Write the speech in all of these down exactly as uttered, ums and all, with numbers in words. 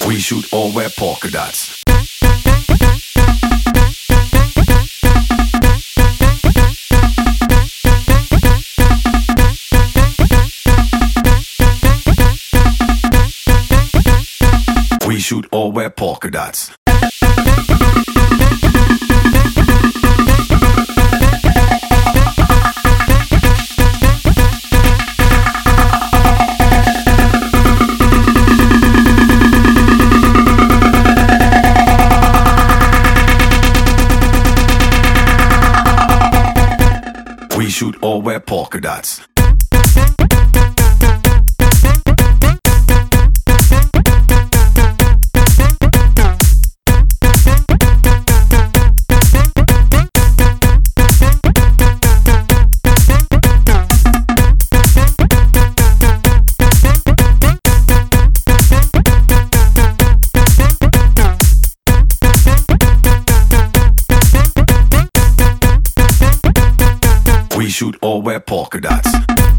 We should all wear polka dots. We should all wear polka dots. We should all wear polka dots. We should all wear polka dots.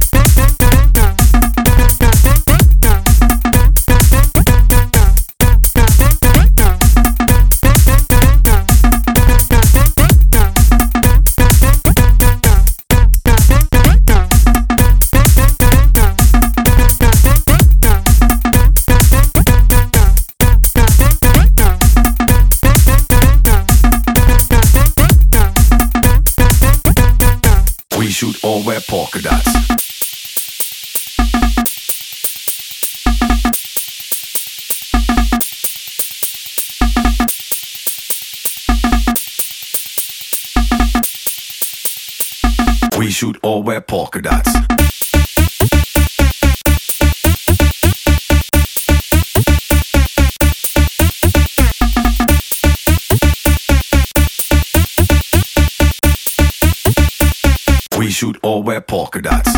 We should all wear polka dots. We should all wear polka dots. We should all wear polka dots.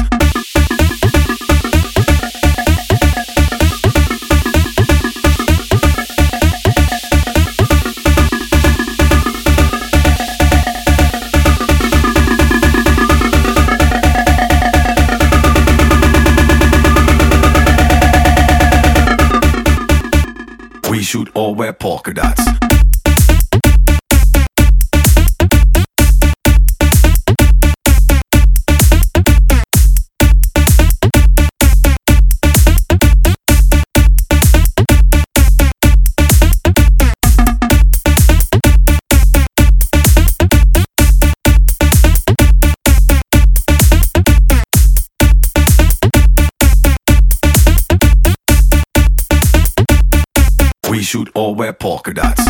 We should all wear polka dots. We should all wear polka dots.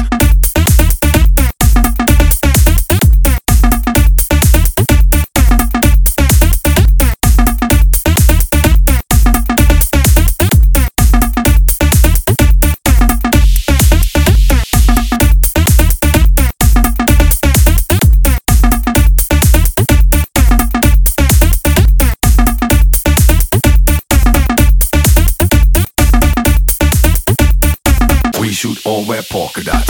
We should all wear polka dots.